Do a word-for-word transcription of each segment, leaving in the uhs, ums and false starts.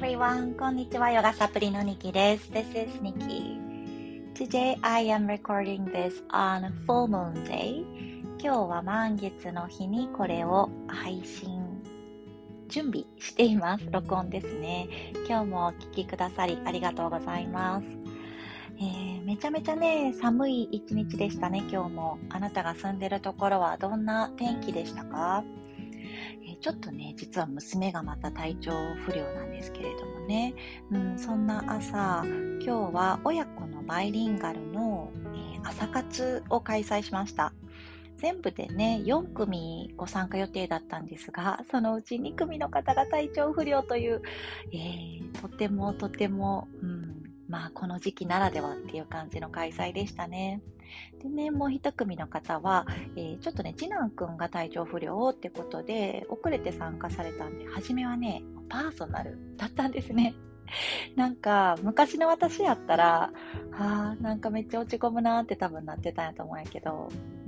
everyone. こんにちは。ヨガサプリのニキです。This is Nikki. Today I am recording this on full moon day. 今日は満月の日にこれを配信準備しています。録音ですね。今日もお聞きくださりありがとうございます。えー、めちゃめちゃね、寒い一日でしたね、今日も。あなたが住んでるところはどんな天気でしたか？ちょっとね、実は娘がまた体調不良なんですけれどもね、うん、そんな朝、今日は親子のバイリンガルの、えー、朝活を開催しました。全部でね、よんくみご参加予定だったんですが、そのうちにくみの方が体調不良という、えー、とてもとても、うん、まあこの時期ならではっていう感じの開催でしたね。でね、もう一組の方は、えー、ちょっとね、次男くんが体調不良ってことで、遅れて参加されたんで、初めはね、パーソナルだったんですね。なんか、昔の私やったら、はぁ、なんかめっちゃ落ち込むなーって多分なってたんやと思うんやけど、うん、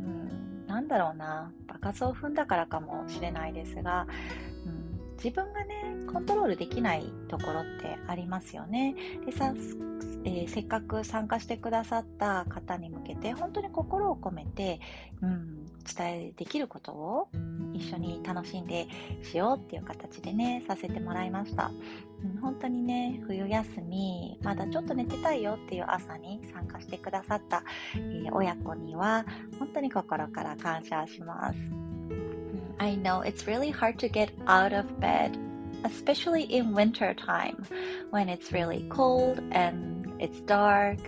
なんだろうな、場数を踏んだからかもしれないですが、うん、自分がね、コントロールできないところってありますよね。でさ、えー、せっかく参加してくださった方に向けて本当に心を込めて、うん、伝えできることを一緒に楽しんでしようっていう形でね、させてもらいました。うん、本当にね、冬休みまだちょっと寝てたいよっていう朝に参加してくださった、えー、親子には本当に心から感謝します。I know it's really hard to get out of bed, especially in winter time when it's really cold and it's dark.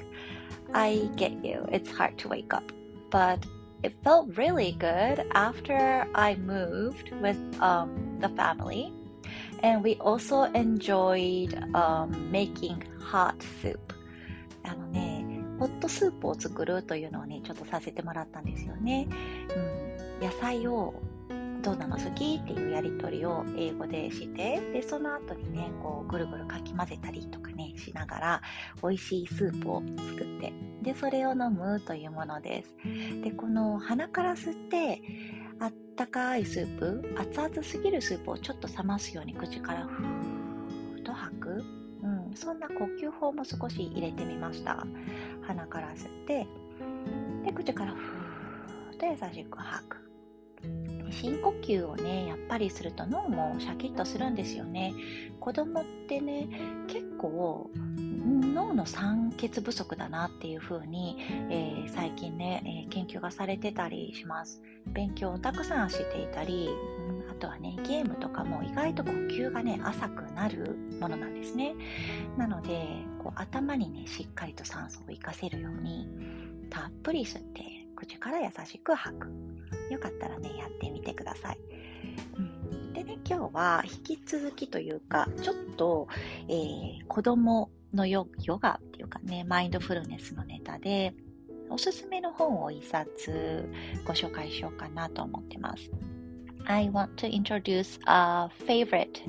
I get you, it's hard to wake up, but it felt really good after I moved with um, the family, and we also enjoyed um, making hot soup. あのね、ホットスープを作るというのをね、ちょっとさせてもらったんですよね。うん、野菜をどうなの好きっていうやりとりを英語でして、でその後にね、こうぐるぐるかき混ぜたりとかねしながら美味しいスープを作って、でそれを飲むというものです。でこの鼻から吸ってあったかいスープ、熱々すぎるスープをちょっと冷ますように口からふーっと吐く、うん、そんな呼吸法も少し入れてみました。鼻から吸ってで口からふーっと優しく吐く。深呼吸をね、やっぱりすると脳もシャキッとするんですよね。子供ってね、結構脳の酸欠不足だなっていう風に、えー、最近ね、えー、研究がされてたりします。勉強をたくさんしていたり、うん、あとはね、ゲームとかも意外と呼吸がね、浅くなるものなんですね。なので、こう頭にね、しっかりと酸素を活かせるように、たっぷり吸って口から優しく吐く。よかったらね、やってみてください。うん、でね、今日は引き続きというか、ちょっと、えー、子供のヨ、ヨガっていうかね、マインドフルネスのネタで、おすすめの本を一冊ご紹介しようかなと思ってます。I want to introduce a favorite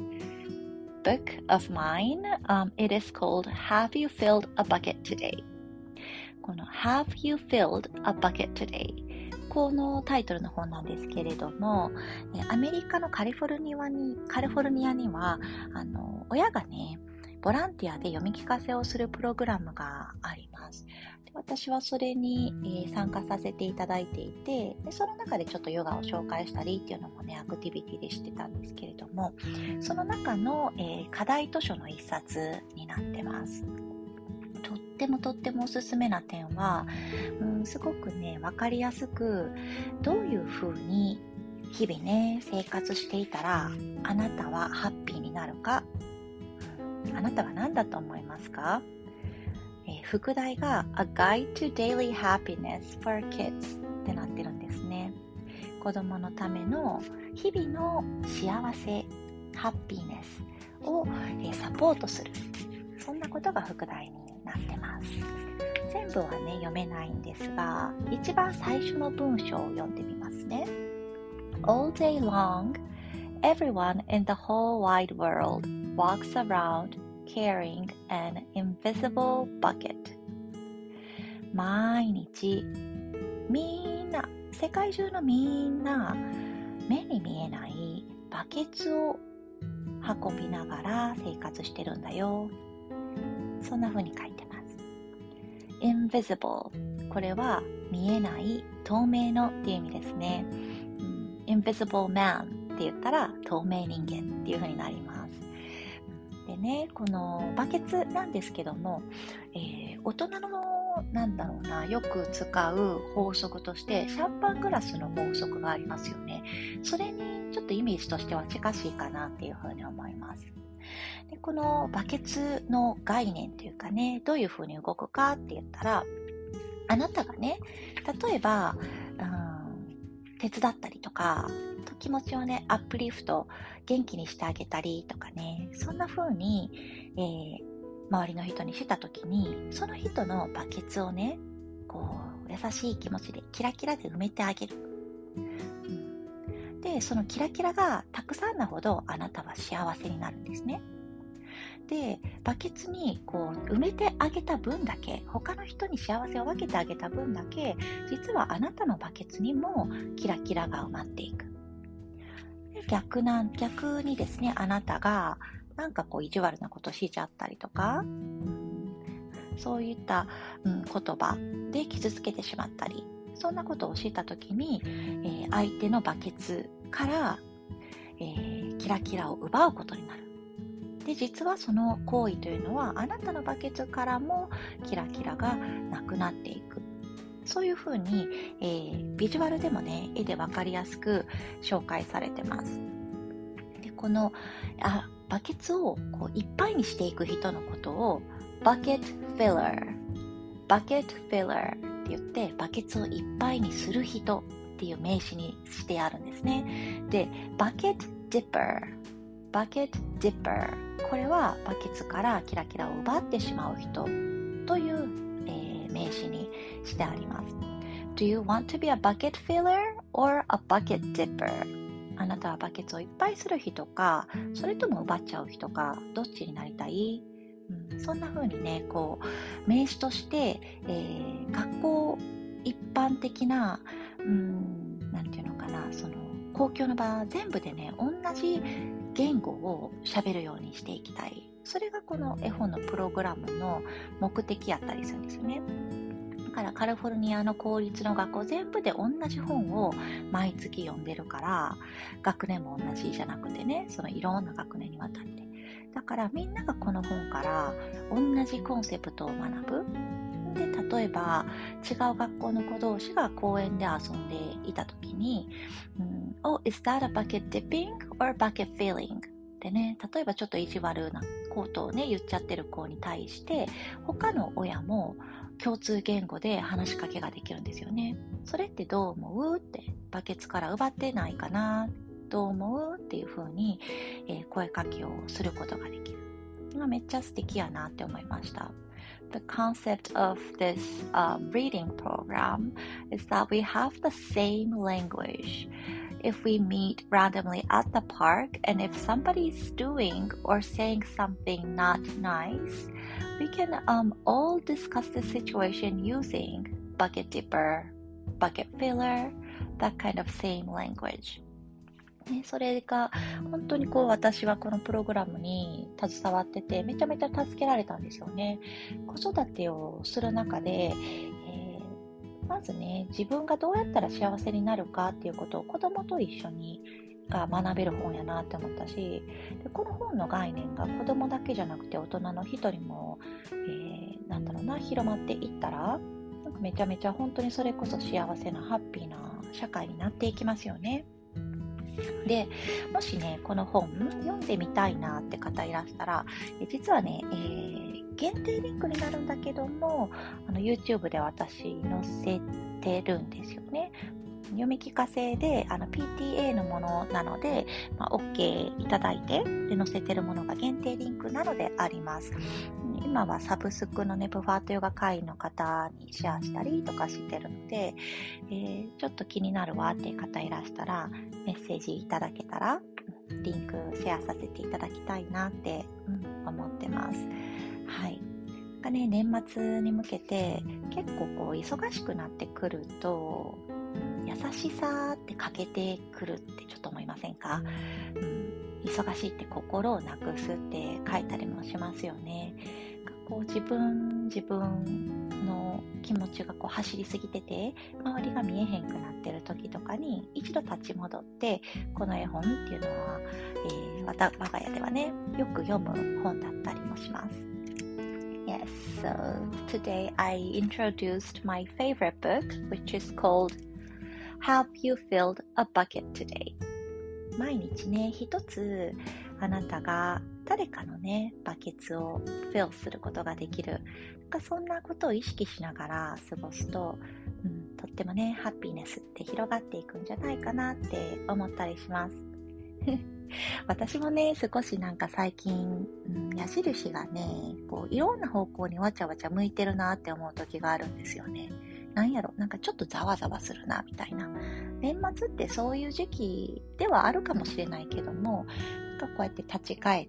book of mine. Um, it is called Have You Filled a Bucket Today? この Have You Filled a Bucket Today?このタイトルの本なんですけれども、アメリカのカリフォルニアに、カリフォルニアには、あの、親がね、ボランティアで読み聞かせをするプログラムがあります。で私はそれに、えー、参加させていただいていて、でその中でちょっとヨガを紹介したりっていうのもね、アクティビティでしてたんですけれども、その中の、えー、課題図書の一冊になってます。とってもとってもおすすめな点は、うん、すごくね、わかりやすく、どういう風に日々ね、生活していたら、あなたはハッピーになるか、うん、あなたは何だと思いますか？えー、副題が A Guide to Daily Happiness for Kids ってなってるんですね。子供のための日々の幸せ、ハッピーネスを、えー、サポートする。そんなことが副題になってます。全部はね、読めないんですが、一番最初の文章を読んでみますね。All day long, everyone in the whole wide world walks around carrying an invisible bucket. 毎日、みんな、世界中のみんな、目に見えないバケツを運びながら生活してるんだよ。そんな風に書いてます。invisible、 これは見えない、透明のっていう意味ですね。うん、invisible man って言ったら透明人間っていう風になります。でね、このバケツなんですけども、えー、大人のなんだろうな、よく使う法則としてシャンパングラスの法則がありますよね。それにちょっとイメージとしては近しいかなっていう風に思います。で、このバケツの概念というかね、どういう風に動くかって言ったら、あなたがね、例えば、うん、手伝ったりとか、気持ちをね、アップリフト、元気にしてあげたりとかね、そんな風に、えー、周りの人にしたときに、その人のバケツをね、こう、優しい気持ちでキラキラで埋めてあげる。うん、で、そのキラキラがたくさんなほどあなたは幸せになるんですね。で、バケツにこう埋めてあげた分だけ、他の人に幸せを分けてあげた分だけ、実はあなたのバケツにもキラキラが埋まっていく。で、逆な、逆にですね、あなたがなんかこう意地悪なことしちゃったりとか、うん、そういった、うん、言葉で傷つけてしまったり、そんなことをしたときに、えー、相手のバケツから、えー、キラキラを奪うことになる。で、実はその行為というのはあなたのバケツからもキラキラがなくなっていく。そういうふうに、えー、ビジュアルでもね、絵でわかりやすく紹介されてます。で、このあバケツをこういっぱいにしていく人のことをバケットフィラー、バケットフィラーって言って、バケツをいっぱいにする人っていう名詞にしてあるんですね。で、バケットディッパー、バケットディッパー、これはバケツからキラキラを奪ってしまう人という、えー、名詞にしてあります。Do you want to be a bucket filler or a bucket dipper? あなたはバケツをいっぱいする人か、それとも奪っちゃう人か、どっちになりたい？うん、そんな風にね、こう名詞として、えー、学校一般的な、うん、なんていうのかな、その公共の場全部でね、同じ言語を喋るようにしていきたい。それがこの絵本のプログラムの目的やったりするんですよね。だからカリフォルニアの公立の学校全部で同じ本を毎月読んでるから、学年も同じじゃなくてね、そのいろんな学年にわたって。だからみんながこの本から同じコンセプトを学ぶ。で、例えば違う学校の子同士が公園で遊んでいたときに、うん、Oh, is that a bucket dipping or bucket filling? でね、例えばちょっと意地悪なことをね、言っちゃってる子に対して、他の親も共通言語で話しかけができるんですよね。それってどう思うって、バケツから奪ってないかな、どう思うっていう風に、えー、声かけをすることができる。めっちゃ素敵やなって思いました。The concept of this um, reading program is that we have the same language. If we meet randomly at the park and if somebody is doing or saying something not nice, we can um, all discuss the situation using bucket dipper, bucket filler, that kind of same language.ね、それが本当にこう私はこのプログラムに携わっててめちゃめちゃ助けられたんですよね。子育てをする中で、えー、まずね、自分がどうやったら幸せになるかっていうことを子供と一緒にが学べる本やなって思ったし、でこの本の概念が子供だけじゃなくて大人の一人も、えー、なんだろうな、広まっていったらなんかめちゃめちゃ本当にそれこそ幸せなハッピーな社会になっていきますよね。で、もしね、この本読んでみたいなって方いらしたら、実はね、えー、限定リンクになるんだけども、あの YouTube で私載せてるんですよね。読み聞かせであの ピーティーエー のものなので、まあ、OK いただいてで載せてるものが限定リンクなのであります。今はサブスクのね、ブファートヨガ会員の方にシェアしたりとかしてるので、えー、ちょっと気になるわっていう方いらしたらメッセージいただけたらリンクシェアさせていただきたいなって、うん、思ってます。はい。なんかね、年末に向けて結構こう忙しくなってくると、 ん、優しさって欠けてくるってちょっと思いませんか？うん、忙しいって心をなくすって書いたりもしますよね。こう自分自分の気持ちがこう走りすぎてて周りが見えへんくなってる時とかに一度立ち戻ってこの絵本っていうのは、えー、わた我が家ではねよく読む本だったりもします。Yes, so today I introduced my favorite book, which is called Have You Filled a Bucket Today? 毎日ね、一つあなたが誰かのね、バケツをフィルすることができる。なんかそんなことを意識しながら過ごすと、うん、とってもね、ハッピーネスって広がっていくんじゃないかなって思ったりします。私もね、少しなんか最近、うん、矢印がね、こういろんな方向にわちゃわちゃ向いてるなって思う時があるんですよね。なんやろ、なんかちょっとざわざわするなみたいな。年末ってそういう時期ではあるかもしれないけども、なんかこうやって立ち返って、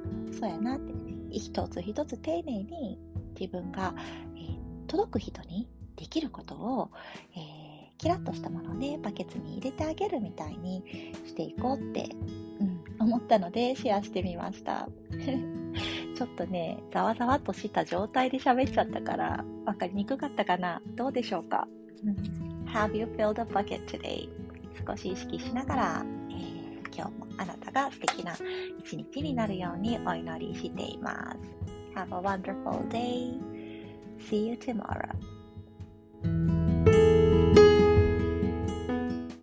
そうやなってね、一つ一つ丁寧に自分が、えー、届く人にできることを、えー、キラッとしたものをね、バケツに入れてあげるみたいにしていこうって、うん、思ったのでシェアしてみました。ちょっとね、ざわざわっとした状態で喋っちゃったから分かりにくかったかな。どうでしょうか、うん、Have you filled a bucket today? 少し意識しながら、えー、今日もあなたが素敵な一日になるようにお祈りしています。Have a wonderful day. See you tomorrow.